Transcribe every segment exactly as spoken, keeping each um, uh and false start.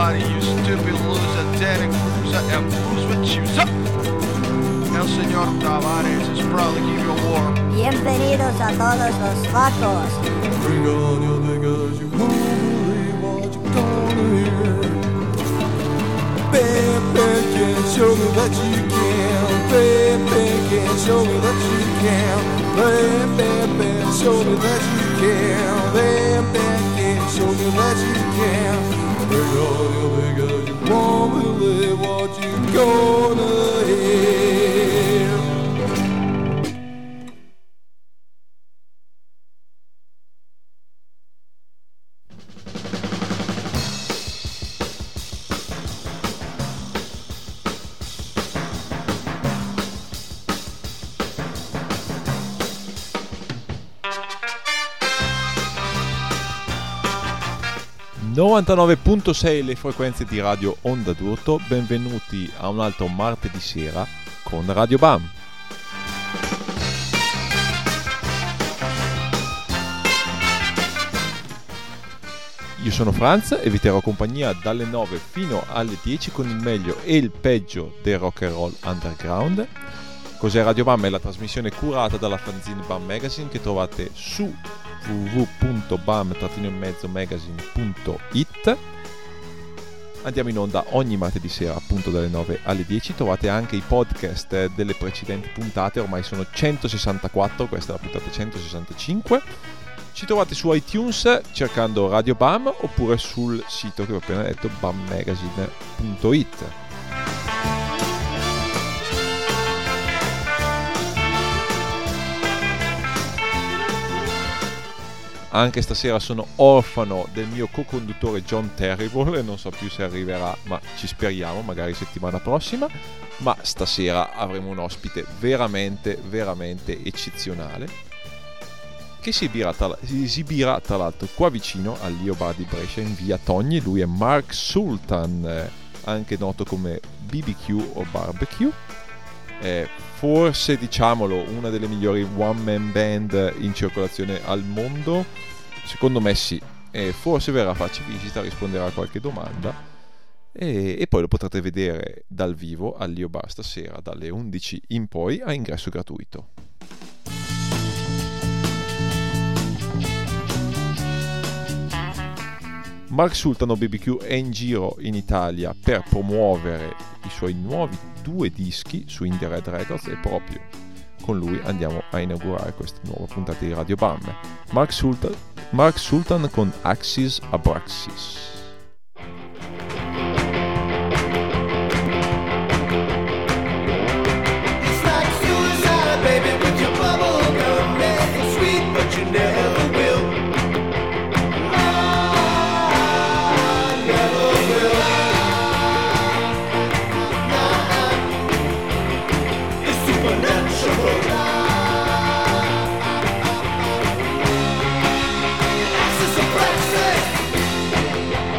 everybody, you stupid loser, Danny Cruiser, and Bruce with Chooser. El señor Tavares is proud to give you a war. Bienvenidos a todos los vacos. Bring on your niggas, you won't believe what you're gonna hear. Bam, bam, can show me that you can. Bam, bam, can show me that you can. Bam, bam, bam, show me that you can. Bam, bam, can show me that you can. Bring on your niggas, you won't believe what you're gonna hear. novantanove virgola sei le frequenze di Radio Onda d'Urto, benvenuti a un altro martedì sera con Radio B A M. Io sono Franz e vi terrò compagnia dalle nove fino alle dieci con il meglio e il peggio del rock and roll underground. Cos'è Radio B A M? È la trasmissione curata dalla fanzine B A M Magazine che trovate su w w w punto bam magazine punto it. Andiamo in onda ogni martedì sera appunto dalle nove alle dieci. Trovate anche i podcast delle precedenti puntate, ormai sono centosessantaquattro, questa è la puntata centosessantacinque. Ci trovate su iTunes cercando Radio B A M oppure sul sito che ho appena detto bam magazine punto it. Anche stasera sono orfano del mio co-conduttore John Terrible, non so più se arriverà, ma ci speriamo, magari settimana prossima. Ma stasera avremo un ospite veramente, veramente eccezionale, che si esibirà tra, si esibirà tra l'altro qua vicino all'Io Bar di Brescia in via Togni. Lui è Mark Sultan, anche noto come B B Q o Barbecue. Eh, forse, diciamolo, una delle migliori one man band in circolazione al mondo. Secondo me sì. E forse verrà a farci visita, risponderà a qualche domanda e, e poi lo potrete vedere dal vivo all'Io Bar stasera dalle undici in poi a ingresso gratuito. Mark Sultan o B B Q è in giro in Italia per promuovere i suoi nuovi due dischi su Indie Red Records e proprio con lui andiamo a inaugurare questa nuova puntata di Radio B A M. Mark Sultan, Mark Sultan con Axis Abraxas. Axis Abraxas.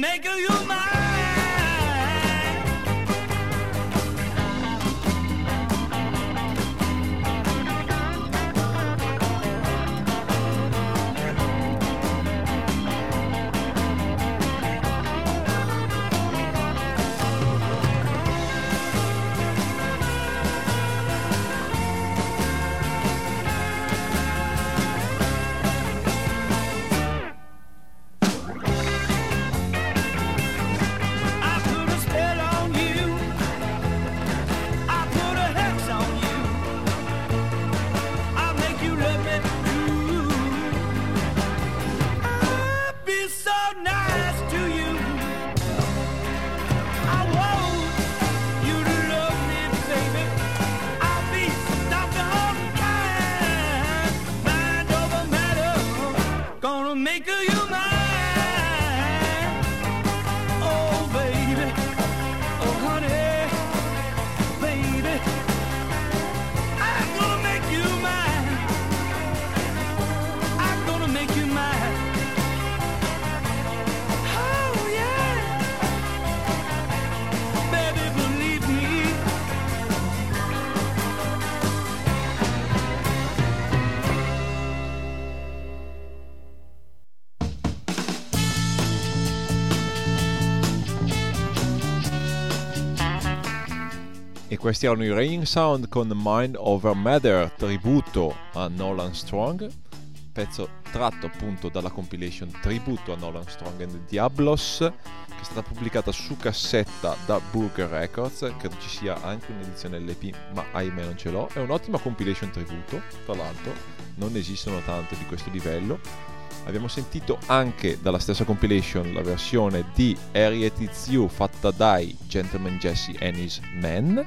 make you mine. E questi erano i Raining Sound con Mind Over Matter, tributo a Nolan Strong, pezzo tratto appunto dalla compilation tributo a Nolan Strong and the Diablos, che è stata pubblicata su cassetta da Burger Records. Credo ci sia anche un'edizione L P, ma ahimè non ce l'ho. È un'ottima compilation tributo, tra l'altro non esistono tante di questo livello. Abbiamo sentito anche dalla stessa compilation la versione di Harriet It's You fatta dai Gentleman Jesse and His Men.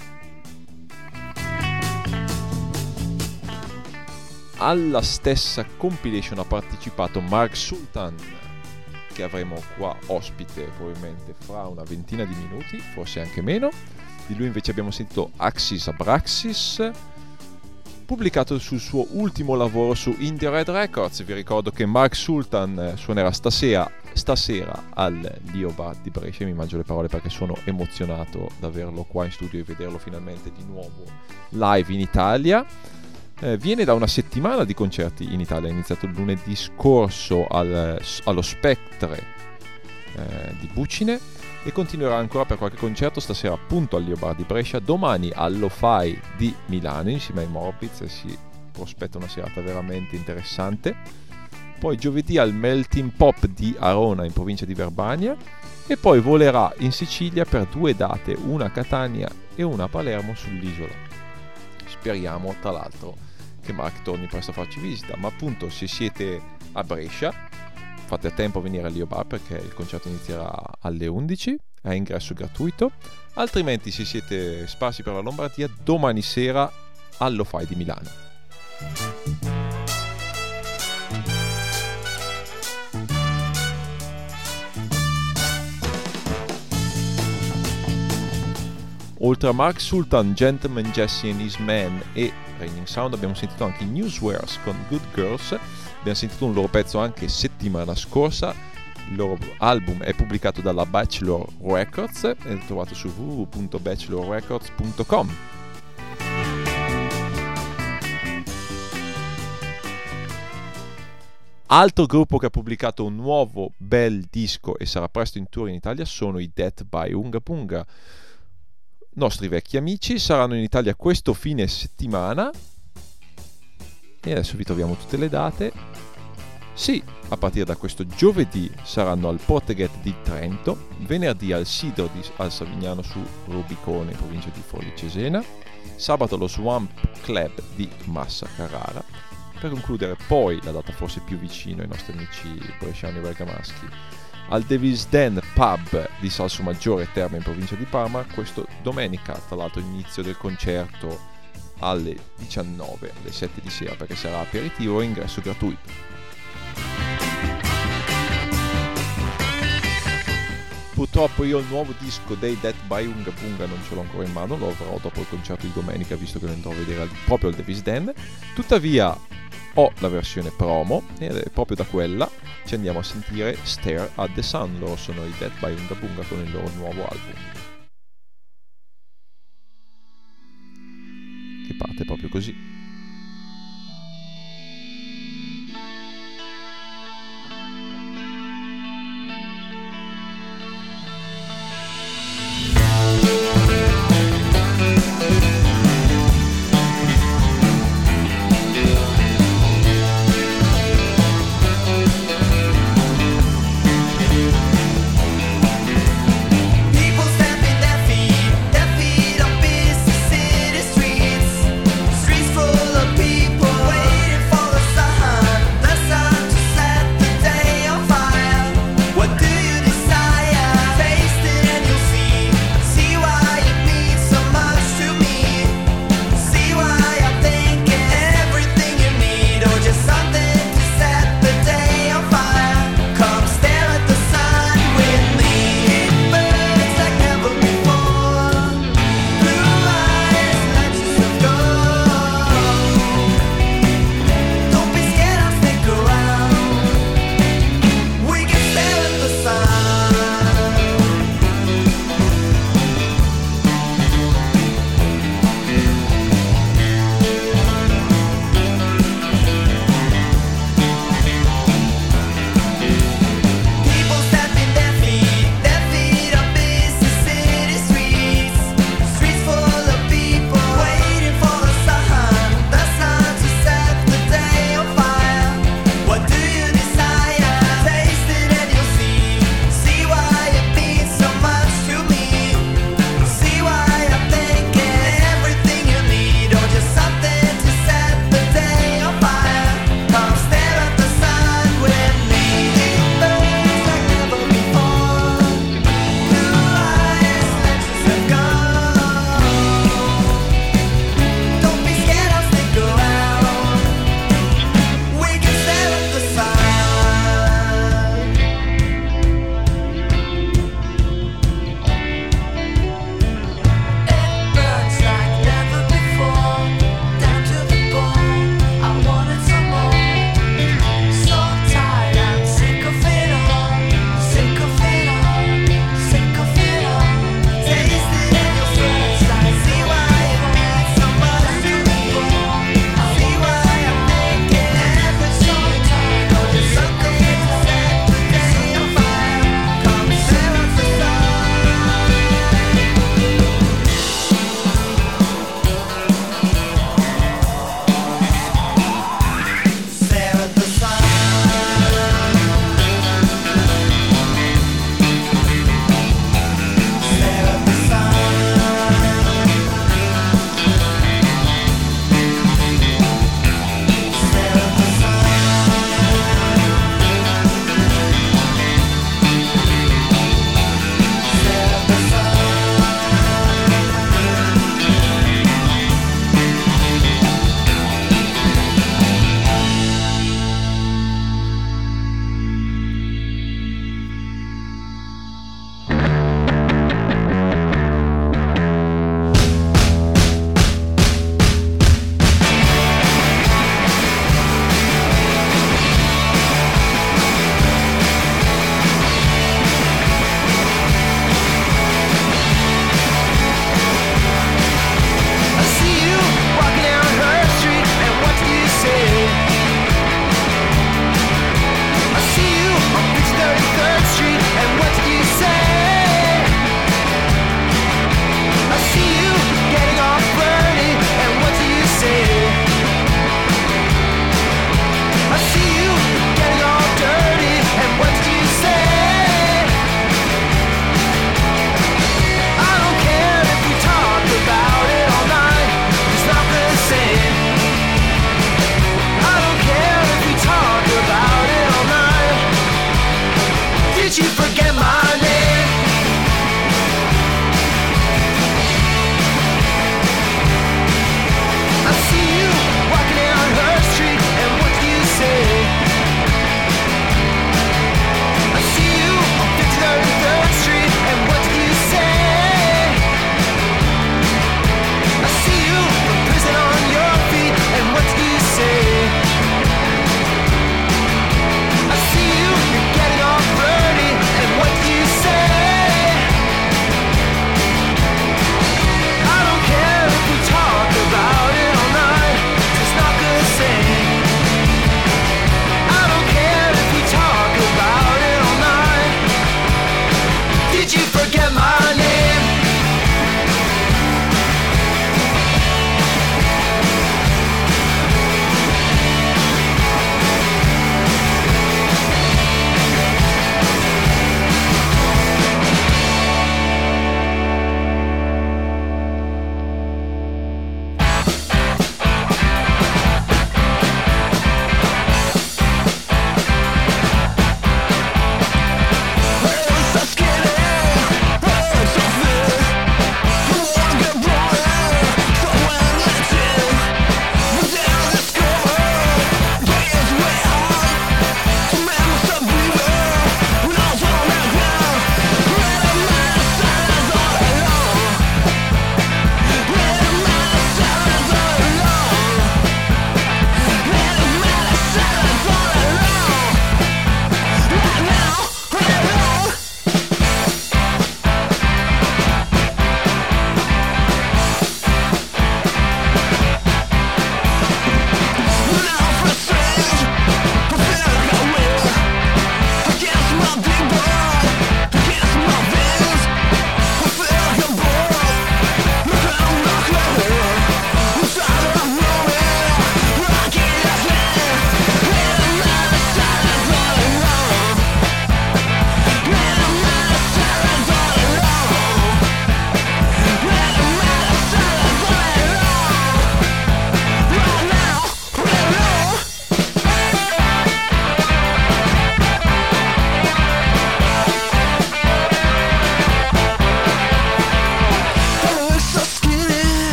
Alla stessa compilation ha partecipato Mark Sultan, che avremo qua ospite probabilmente fra una ventina di minuti, forse anche meno. Di lui invece abbiamo sentito Axis Abraxas, pubblicato sul suo ultimo lavoro su Indie Red Records. Vi ricordo che Mark Sultan suonerà stasera, stasera al Lio Bar di Brescia. Mi mangio le parole perché sono emozionato di averlo qua in studio e vederlo finalmente di nuovo live in Italia. Eh, viene da una settimana di concerti in Italia, è iniziato lunedì scorso al, allo Spectre eh, di Bucine e continuerà ancora per qualche concerto stasera appunto al Lio Bar di Brescia, domani all'O-Fi di Milano insieme ai Morbids e si prospetta una serata veramente interessante. Poi giovedì al Melting Pop di Arona in provincia di Verbania e poi volerà in Sicilia per due date, una a Catania e una a Palermo sull'isola. Speriamo tra l'altro che Mark torni presto a farci visita, ma appunto se siete a Brescia fate a tempo a venire al Lio Bar perché il concerto inizierà alle undici, è ingresso gratuito, altrimenti se siete sparsi per la Lombardia domani sera all'O-Fi di Milano. Oltre a Mark Sultan, Gentleman Jesse and His Men e Raining Sound abbiamo sentito anche i Newswares con Good Girls. Abbiamo sentito un loro pezzo anche settimana scorsa. Il loro album è pubblicato dalla Bachelor Records e è trovato su w w w punto bachelor records punto com. Altro gruppo che ha pubblicato un nuovo bel disco e sarà presto in tour in Italia sono i Death by Unga Punga. Nostri vecchi amici saranno in Italia questo fine settimana e adesso vi troviamo tutte le date. Sì, a partire da questo giovedì saranno al Porteghet di Trento, venerdì al Sidro di, al Savignano su Rubicone, in provincia di Forlì Cesena, sabato allo Swamp Club di Massa Carrara, per concludere poi la data forse più vicina ai nostri amici bresciani e bergamaschi al Devil's Den Pub di Salsomaggiore Terme in provincia di Parma, questo domenica, tra l'altro inizio del concerto alle diciannove, alle sette di sera, perché sarà aperitivo e ingresso gratuito. Purtroppo io il nuovo disco dei Death by Unga Punga non ce l'ho ancora in mano, lo avrò dopo il concerto di domenica visto che lo andrò a vedere proprio al Devil's Den. Tuttavia ho la versione promo ed è proprio da quella ci andiamo a sentire Stare at the Sun. Loro sono i Dead by Unga Bunga con il loro nuovo album, che parte proprio così. Streets full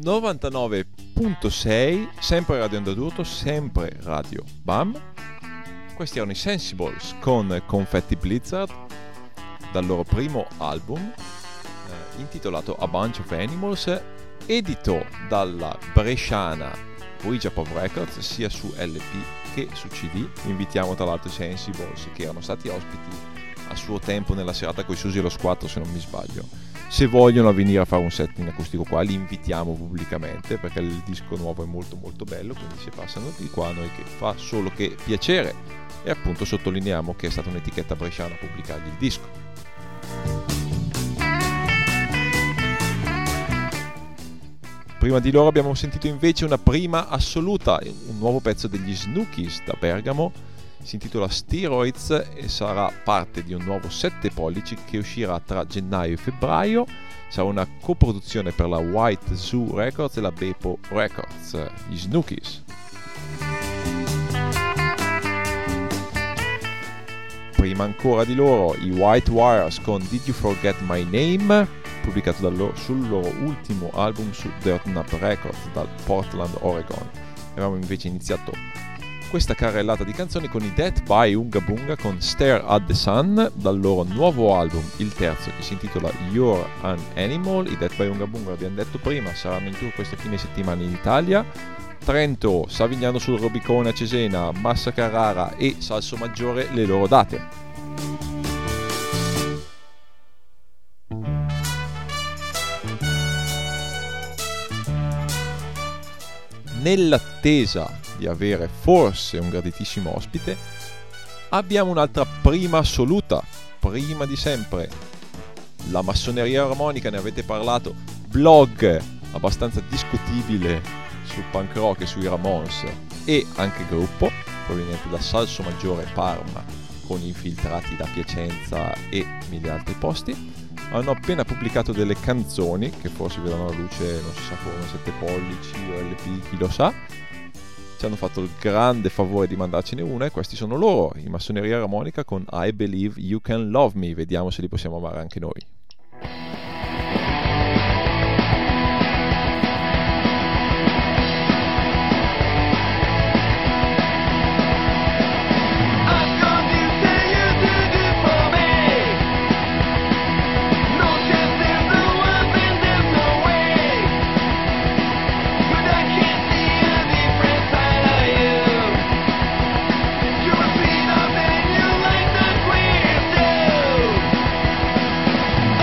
novantanove virgola sei, sempre Radio Onda d'Urto, sempre Radio Bam. Questi erano i Sensibles con Confetti Blizzard dal loro primo album eh, intitolato A Bunch of Animals, edito dalla bresciana Ouija Pop Records sia su L P che su C D. Invitiamo tra l'altro i Sensibles, che erano stati ospiti a suo tempo nella serata con i Susi e lo Squattro, se non mi sbaglio. Se vogliono venire a fare un set in acustico qua, li invitiamo pubblicamente, perché il disco nuovo è molto molto bello, quindi se passano di qua noi che fa solo che piacere. E appunto sottolineiamo che è stata un'etichetta bresciana a pubblicargli il disco. Prima di loro abbiamo sentito invece una prima assoluta, un nuovo pezzo degli Snookies da Bergamo, si intitola Steroids e sarà parte di un nuovo sette pollici che uscirà tra gennaio e febbraio. Sarà una coproduzione per la White Zoo Records e la Beppo Records, gli Snookies. Prima ancora di loro i White Wires con Did You Forget My Name, pubblicato dal loro, sul loro ultimo album su Dirt Nut Records dal Portland, Oregon. Avevamo invece iniziato questa carrellata di canzoni con i Death by Unga Bunga con Stare at the Sun dal loro nuovo album, il terzo, che si intitola You're an Animal. I Death by Unga Bunga, abbiamo detto prima, saranno in tour questo fine settimana in Italia, Trento, Savignano sul Rubicone a Cesena, Massa Carrara e Salsomaggiore le loro date. Nell'attesa di avere forse un graditissimo ospite, abbiamo un'altra prima assoluta, prima di sempre, la massoneria armonica, ne avete parlato, blog abbastanza discutibile sul punk rock e sui Ramones, e anche gruppo proveniente da Salsomaggiore Parma con infiltrati da Piacenza e mille altri posti. Hanno appena pubblicato delle canzoni che forse vedranno la luce, non si sa come, sette pollici o L P, chi lo sa. Ci hanno fatto il grande favore di mandarcene una e questi sono loro, i Massoneria Armonica con I Believe You Can Love Me. Vediamo se li possiamo amare anche noi. You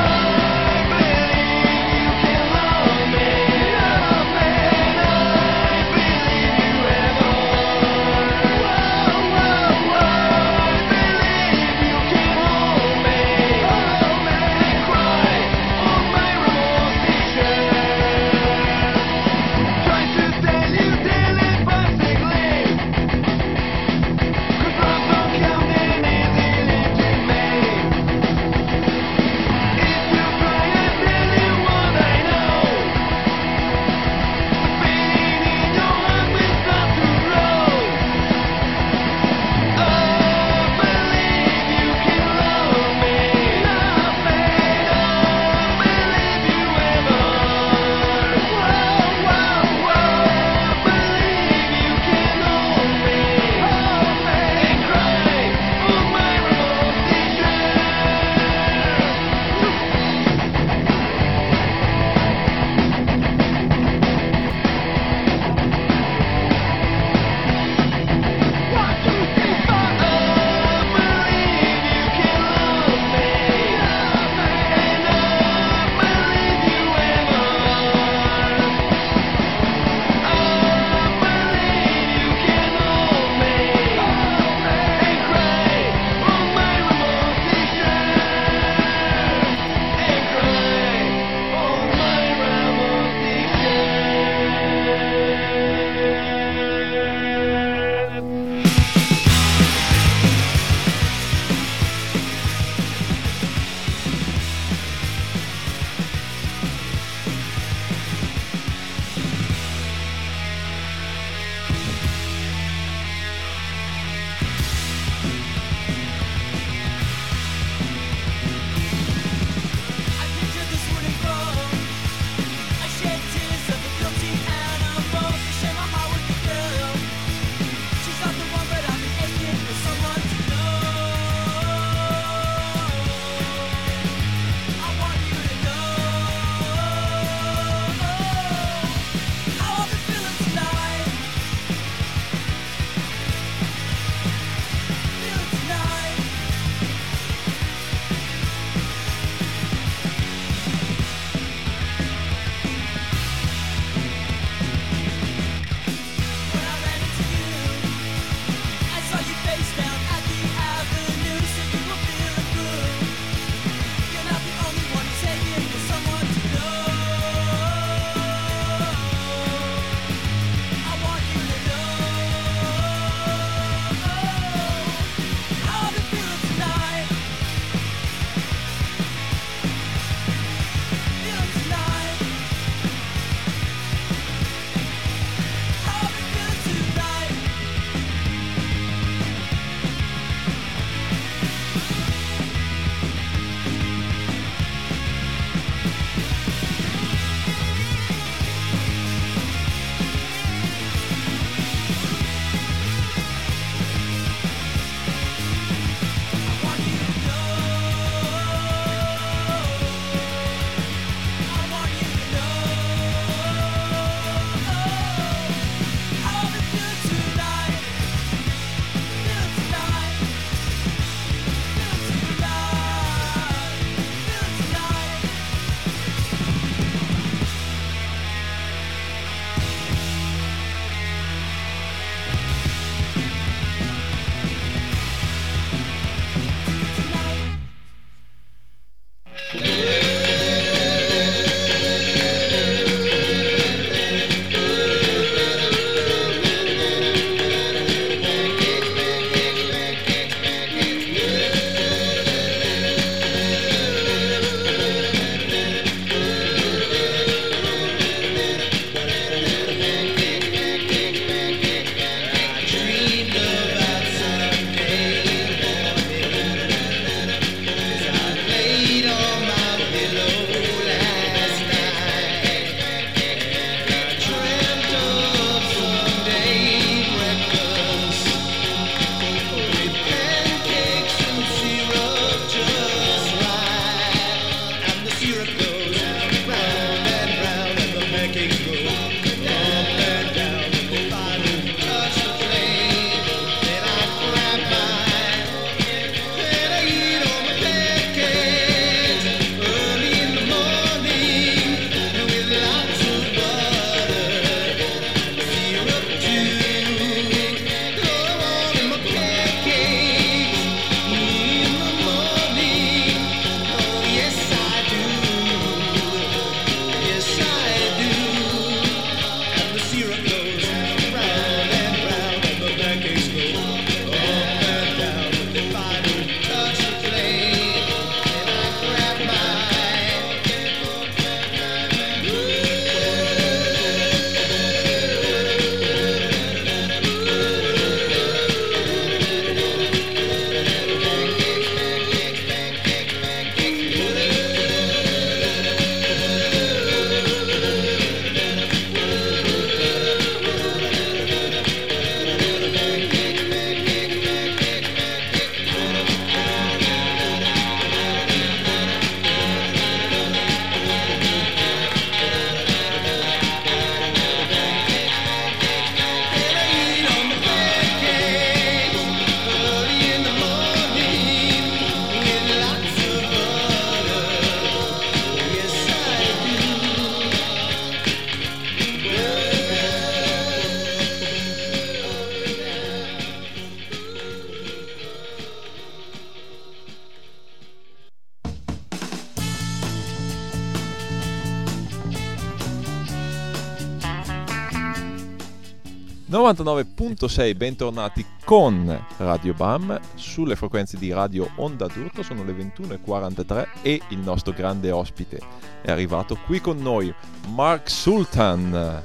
novantanove virgola sei, bentornati con Radio Bam sulle frequenze di Radio Onda d'Urto. Sono le ventuno e quarantatré e il nostro grande ospite è arrivato qui con noi, Mark Sultan.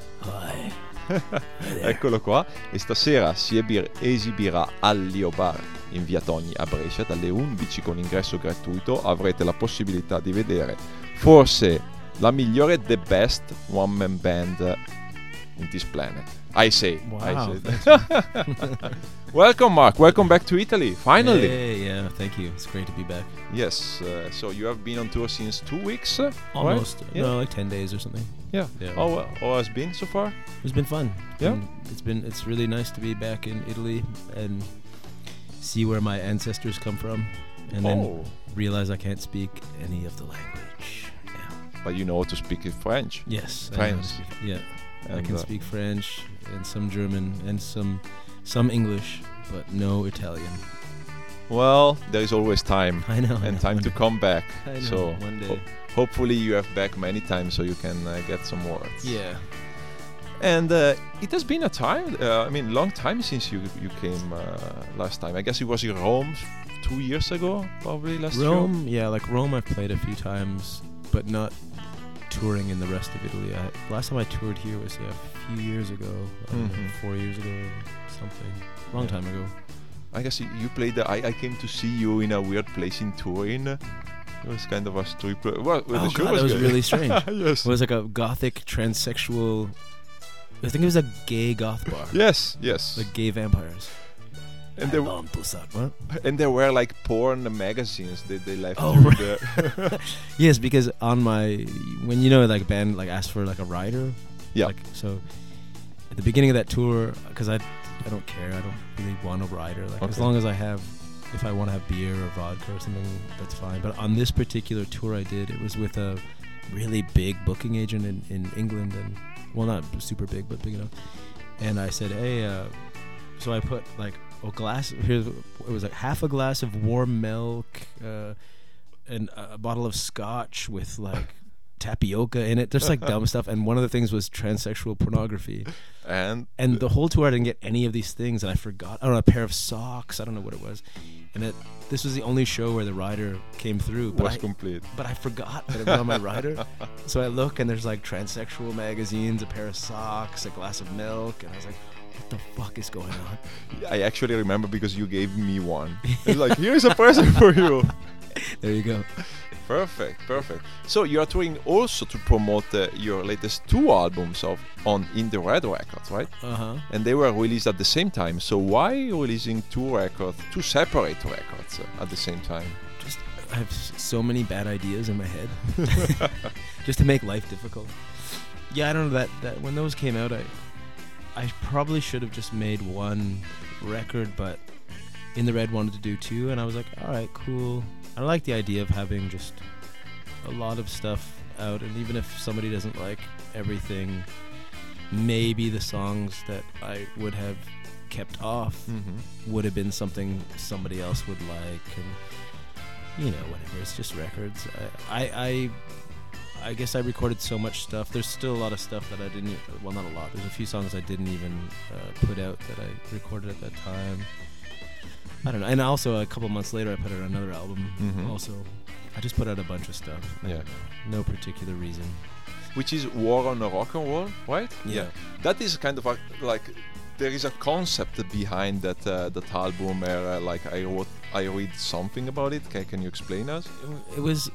Eccolo qua, e stasera si ebir- esibirà al Lio Bar in via Togni a Brescia dalle undici con ingresso gratuito. Avrete la possibilità di vedere forse la migliore, the best one man band in this planet. I say. Wow. I say. Welcome, Mark. Welcome back to Italy. Finally. Hey, yeah, thank you. It's great to be back. Yes. Uh, so you have been on tour since two weeks, uh, Almost. right? Yeah. No, like ten days or something. Yeah. Yeah. How uh, how has been so far? It's been fun. Yeah? And it's been. It's really nice to be back in Italy and see where my ancestors come from, and then Oh. realize I can't speak any of the language. Yeah. But you know to speak French. Yes. I know how to French. speak- Yeah. I And, can uh, speak French and some German and some some English, but no Italian. Well, there is always time. I know. I And know, time one to day. come back. I know, So one day. ho- hopefully you have back many times so you can uh, get some words. Yeah. And uh, it has been a time, uh, I mean, long time since you you came uh, last time. I guess it was in Rome two years ago, probably last year. Rome, yeah, like Rome I've played a few times, but not touring in the rest of Italy. I, last time I toured here was yeah, a few years ago, I don't know, Mhm. four years ago or something. Long Yeah. time ago. I guess you, you played. The, I I came to see you in a weird place in Turin. It was kind of a strip. Well, well, the Oh show god, that was good. really strange. Yes. It was like a gothic transsexual, I think it was a gay goth bar. Yes. Yes. Like gay vampires. and I there want to suck, what? and there were like porn magazines that they left. Oh, you right. the Yes, because on my, when you know like a band like asked for like a rider. Yeah. Like, so at the beginning of that tour, because I, I don't care. I don't really want a rider. Like as Okay. long as I have, if I want to have beer or vodka or something, that's fine. But on this particular tour I did, it was with a really big booking agent in, in England, and well, not super big, but big enough. And I said, hey, uh, so I put like a glass. Here, it was like half a glass of warm milk, uh, and a bottle of scotch with like tapioca in it, just like dumb stuff. And one of the things was transsexual pornography. and And the whole tour I didn't get any of these things, and I forgot. I don't know, a pair of socks. I don't know what it was. And it, this was the only show where the rider came through. But was I, complete. but I forgot that it was on my rider. So I look, and there's like transsexual magazines, a pair of socks, a glass of milk, and I was like, what the fuck is going on? I actually remember because you gave me one. It's like, here's a present for you. There you go. Perfect, perfect. So you are touring also to promote uh, your latest two albums of on In the Red Records, right? Uh huh. And they were released at the same time. So why releasing two records, two separate records uh, at the same time? Just I have s- so many bad ideas in my head, just to make life difficult. Yeah, I don't know that that when those came out, I I probably should have just made one record, but In the Red wanted to do two, and I was like, all right, cool. I like the idea of having just a lot of stuff out, and even if somebody doesn't like everything, maybe the songs that I would have kept off Mm-hmm. would have been something somebody else would like, and you know, whatever. It's just records. I, I, I, I guess I recorded so much stuff. There's still a lot of stuff that I didn't. e- Well, not a lot. There's a few songs I didn't even uh, put out that I recorded at that time. I don't know. And also, a couple months later, I put out another album. Mhm. Also, I just put out a bunch of stuff. I Yeah. don't know. No particular reason. Which is War on a Rock and Roll, right? Yeah. That is kind of a, like there is a concept behind that uh, that album where uh, like I wrote I read something about it. Can, can you explain us? It, w- it was.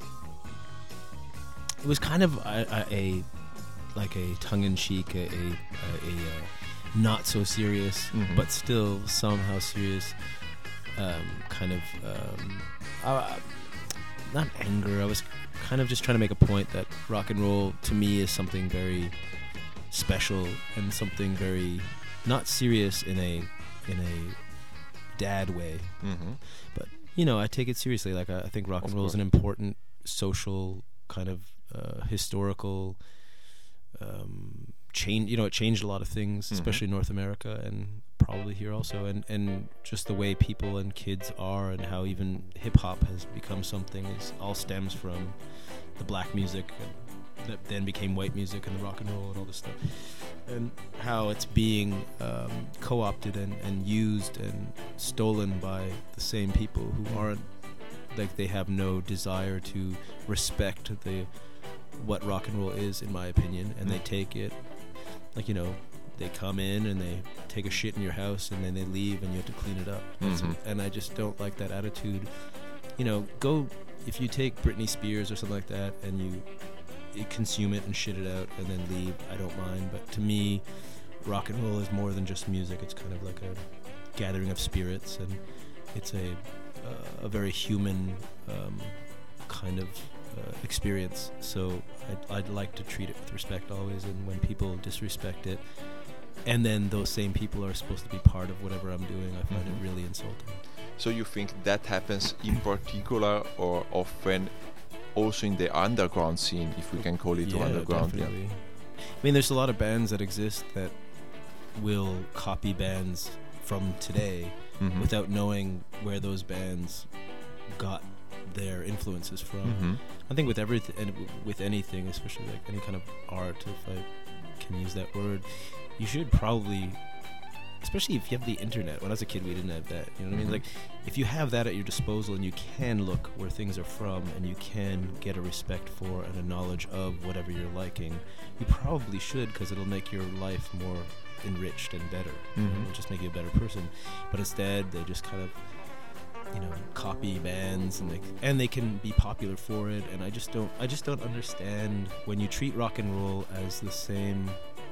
It was kind of a, a, a like a tongue-in-cheek, a, a, a, a uh, not so serious, Mhm. but still somehow serious um, kind of um, uh, not anger. I was kind of just trying to make a point that rock and roll to me is something very special and something very not serious in a in a dad way. Mm-hmm. But you know, I take it seriously. Like I, I think rock Of and roll is an important social kind of uh, historical um, change. You know, it changed a lot of things, Mhm. especially in North America and probably here also. And and just the way people and kids are, and how even hip hop has become something, is all stems from the black music and that then became white music and the rock and roll and all this stuff. and how it's being um, co-opted and, and used and stolen by the same people who aren't, like, they have no desire to respect the what rock and roll is, in my opinion, and they take it, like, you know, they come in and they take a shit in your house and then they leave and you have to clean it up. Mhm. And I just don't like that attitude. You know, go, if you take Britney Spears or something like that and you, you consume it and shit it out and then leave, I don't mind. But to me, rock and roll is more than just music. It's kind of like a gathering of spirits, and it's a uh, a very human um, kind of uh, experience. So I'd, I'd like to treat it with respect always, and when people disrespect it, and then those same people are supposed to be part of whatever I'm doing, I find Mhm. it really insulting. So you think that happens in particular or often also in the underground scene, if we can call it Yeah, underground? definitely. I mean, there's a lot of bands that exist that will copy bands from today Yeah. Mhm. without knowing where those bands got their influences from. Mhm. I think with everything, and w- with anything, especially like any kind of art, if I can use that word, you should probably, especially if you have the internet. When I was a kid, we didn't have that. You know what I mean? Mhm. Like, if you have that at your disposal and you can look where things are from and you can get a respect for and a knowledge of whatever you're liking, you probably should, because it'll make your life more enriched and better. You know, Mhm. it'll just make you a better person. But instead, they just kind of, you know, copy bands, and they and they can be popular for it. And I just don't, I just don't understand when you treat rock and roll as the same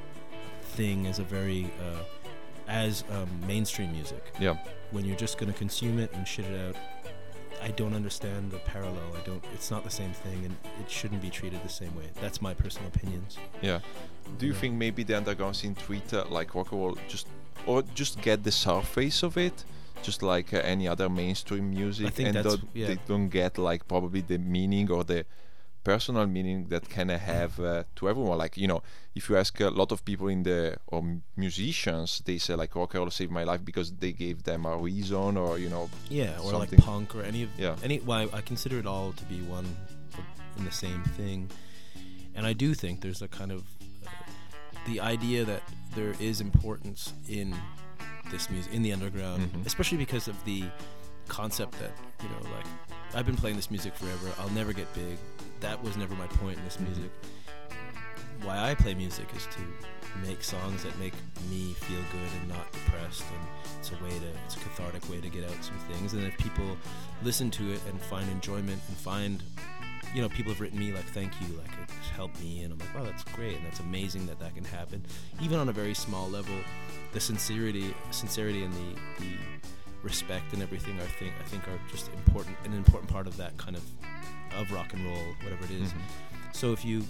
thing as a very uh, as um, mainstream music. Yeah. When you're just going to consume it and shit it out, I don't understand the parallel. I don't. It's not the same thing, and it shouldn't be treated the same way. That's my personal opinions. Yeah. Do you Yeah. think maybe the underground scene treat uh, like rock and roll just, or just get the surface of it, just like uh, any other mainstream music, I think and that's- don't- yeah. they don't get like probably the meaning or the personal meaning that can uh, have uh, to everyone. Like, you know, if you ask a lot of people in the or m- musicians, they say like rock and roll saved my life because they gave them a reason, or you know. Yeah, or Something. like punk or any of Yeah. any. Well, I consider it all to be one in the same thing, and I do think there's a kind of uh, the idea that there is importance in this music in the underground, Mhm. especially because of the concept that, you know, like, I've been playing this music forever. I'll never get big. That was never my point in this Mhm. music. Why I play music is to make songs that make me feel good and not depressed, and it's a way to it's a cathartic way to get out some things. And if people listen to it and find enjoyment and find, you know, people have written me like, thank you, like, it's helped me, and I'm like, wow, that's great, and that's amazing that that can happen, even on a very small level. The sincerity sincerity and the, the respect and everything, I think I think are just important, an important part of that kind of of rock and roll, whatever it is. Mhm. So if you,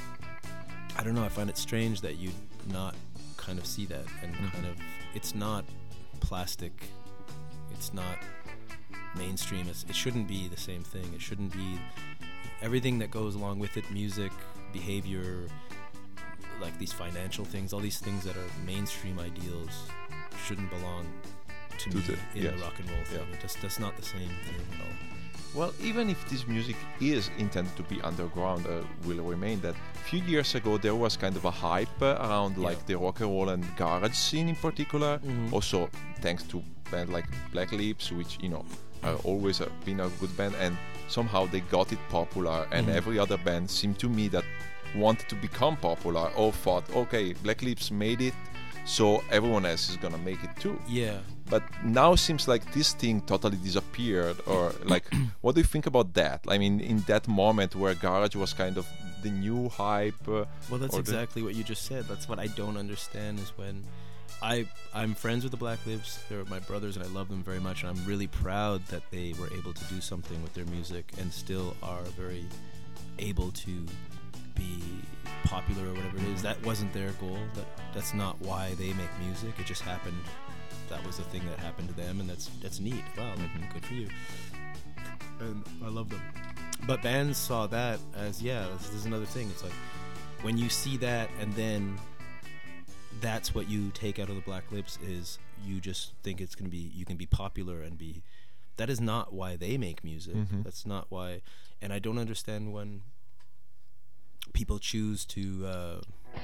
I don't know, I find it strange that you not kind of see that, and Mhm. kind of, it's not plastic, it's not mainstream, it's, it shouldn't be the same thing. It shouldn't be everything that goes along with it, music, behavior, like these financial things, all these things that are mainstream ideals shouldn't belong to, To me the- in yes. the rock and roll thing. Yeah. It just, that's not the same thing at all. Well, even if this music is intended to be underground, uh, will remain that a few years ago there was kind of a hype uh, around like Yeah. the rock and roll and garage scene in particular. Mhm. Also, thanks to band like Black Lips, which you know are always uh, been a good band, and somehow they got it popular. And Mhm. every other band seemed to me that wanted to become popular or thought, okay, Black Lips made it, so everyone else is gonna make it too. Yeah. But now seems like this thing totally disappeared, or like, what do you think about that? I mean, in that moment where garage was kind of the new hype. Uh, Well, that's or the- exactly what you just said. That's what I don't understand, is when I I'm friends with the Black Lips. They're my brothers, and I love them very much. And I'm really proud that they were able to do something with their music and still are very able to be popular or whatever it is. That wasn't their goal. That that's not why they make music. It just happened. That was the thing that happened to them, and that's that's neat. Wow, like, Mhm. good for you. And I love them. But bands saw that as, yeah, this, this is another thing. It's like, when you see that and then that's what you take out of the Black Lips, is you just think it's going to be, you can be popular and be, that is not why they make music. Mhm. That's not why. And I don't understand when people choose to uh,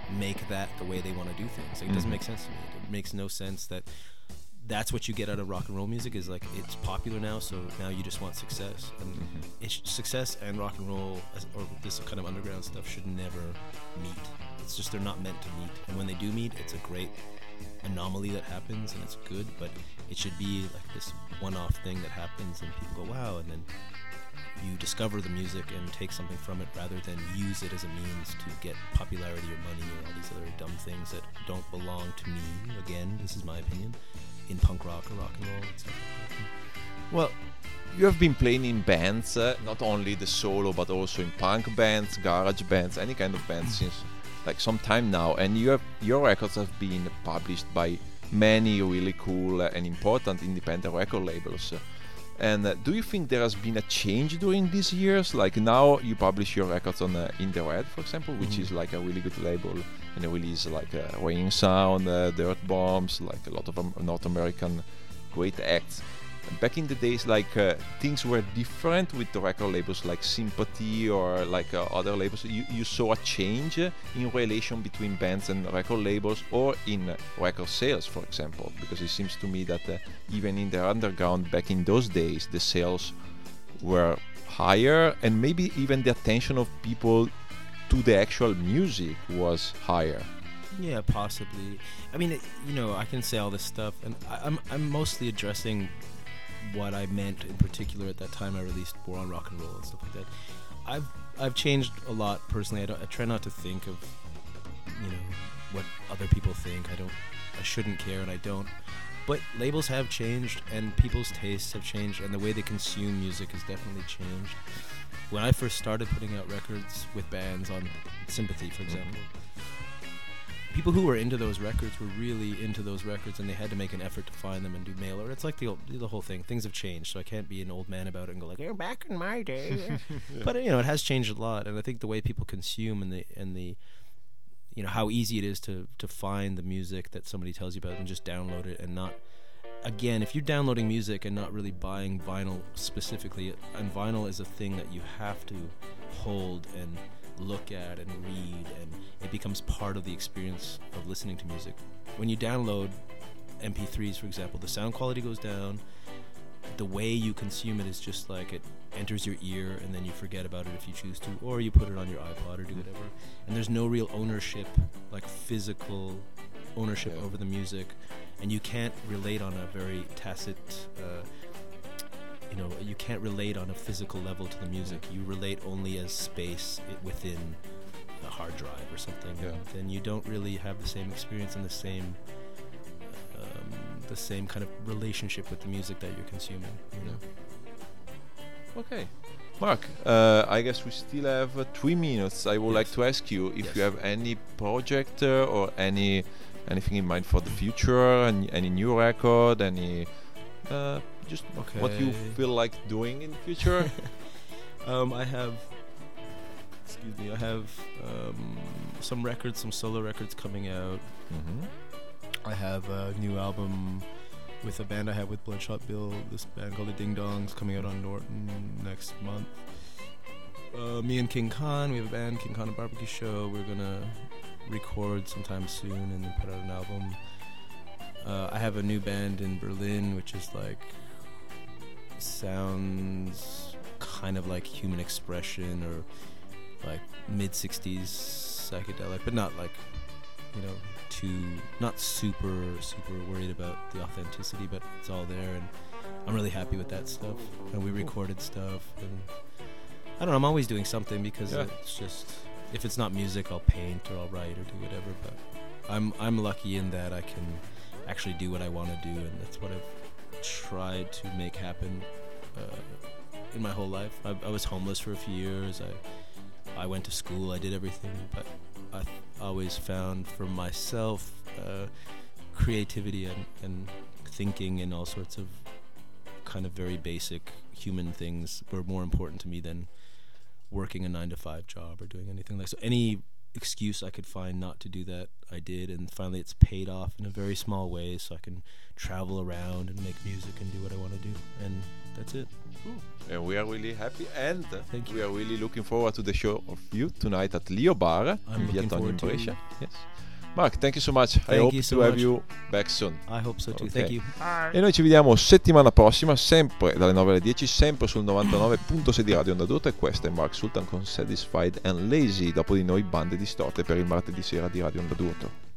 make that the way they want to do things. Like, it doesn't Mhm. make sense to me. It makes no sense that that's what you get out of rock and roll music, is like, it's popular now, so now you just want success. And Mhm. it's success and rock and roll, as, or this kind of underground stuff, should never meet. It's just, they're not meant to meet. And when they do meet, it's a great anomaly that happens, and it's good, but it should be like this one-off thing that happens and people go, wow, and then you discover the music and take something from it, rather than use it as a means to get popularity or money or all these other dumb things that don't belong to me. Again, this is my opinion, in punk rock or rock and roll and stuff like that. Well, you have been playing in bands, uh, not only the solo, but also in punk bands, garage bands, any kind of bands since like some time now, and you have your records have been published by many really cool uh, and important independent record labels. Uh, and uh, do you think there has been a change during these years? Like now you publish your records on uh, In The Red, for example, which Mhm. is like a really good label, and it releases like uh, Raining Sound, uh, Dirt Bombs, like a lot of um, North American great acts. Back in the days, like uh, things were different with the record labels like Sympathy or like uh, other labels. You, you saw a change uh, in relation between bands and record labels, or in uh, record sales, for example, because it seems to me that uh, even in the underground back in those days, the sales were higher, and maybe even the attention of people to the actual music was higher. Yeah, possibly. I mean, it, you know, I can say all this stuff, and I, I'm I'm mostly addressing what I meant in particular at that time I released War on Rock and Roll and stuff like that. I've I've changed a lot personally. I, don't, I try not to think of, you know, what other people think. I don't. I shouldn't care, and I don't. But labels have changed, and people's tastes have changed, and the way they consume music has definitely changed. When I first started putting out records with bands on Sympathy, for example, people who were into those records were really into those records, and they had to make an effort to find them and do mail order. It's like the old, the whole thing. Things have changed, so I can't be an old man about it and go like, "Oh, back in my day." But you know, it has changed a lot, and I think the way people consume and the and the you know how easy it is to to find the music that somebody tells you about and just download it, and not. Again, if you're downloading music and not really buying vinyl specifically, and vinyl is a thing that you have to hold and look at and read, and it becomes part of the experience of listening to music. When you download M P threes, for example, the sound quality goes down. The way you consume it is just like it enters your ear and then you forget about it if you choose to, or you put it on your iPod or do whatever. And there's no real ownership, like physical ownership Yeah. over the music, and you can't relate on a very tacit uh, you know, you can't relate on a physical level to the music. You relate only as space i- within a hard drive or something. Yeah. And then you don't really have the same experience and the same, um, the same kind of relationship with the music that you're consuming. You know. Okay. Mark, uh, I guess we still have uh, three minutes. I would Yes. like to ask you if Yes. you have any project uh, or any anything in mind for the future, any, any new record, any uh, just what you Okay. feel like doing in the future. Um, I have, excuse me, I have um, some records, some solo records coming out. Mm-hmm. I have a new album with a band I have with Bloodshot Bill, this band called the Ding Dongs, coming out on Norton next month. Uh, me and King Khan, we have a band, King Khan and Barbecue Show. We're gonna record sometime soon and then put out an album. Uh, I have a new band in Berlin, which is like, sounds kind of like Human Expression or like mid sixties psychedelic, but not like, you know, too, not super, super worried about the authenticity, but it's all there, and I'm really happy with that stuff. And we recorded stuff, and I don't know, I'm always doing something because Yeah. it's just, if it's not music, I'll paint or I'll write or do whatever, but I'm I'm lucky in that I can actually do what I want to do, and that's what I've tried to make happen uh, in my whole life. I, I was homeless for a few years. I I went to school. I did everything, but I th- always found for myself uh, creativity and, and thinking and all sorts of kind of very basic human things were more important to me than working a nine to five job or doing anything like so. Any excuse I could find not to do that, I did, and finally it's paid off in a very small way, so I can travel around and make music and do what I want to do. And that's it. And we are really happy, and Thank you. we are really looking forward to the show of you tonight at Leo Bar in I'm Via looking Tonio in forward to Brescia. it. Yes. Mark, thank you so much. I Thank hope you so to have much. you back soon. I hope so too. Ok. Thank you. E noi ci vediamo settimana prossima, sempre dalle nove alle dieci, sempre sul novantanove virgola sei di Radio Onda D'Urto. E questo è Mark Sultan con Satisfied and Lazy. Dopo di noi, bande distorte per il martedì sera di Radio Onda D'Urto.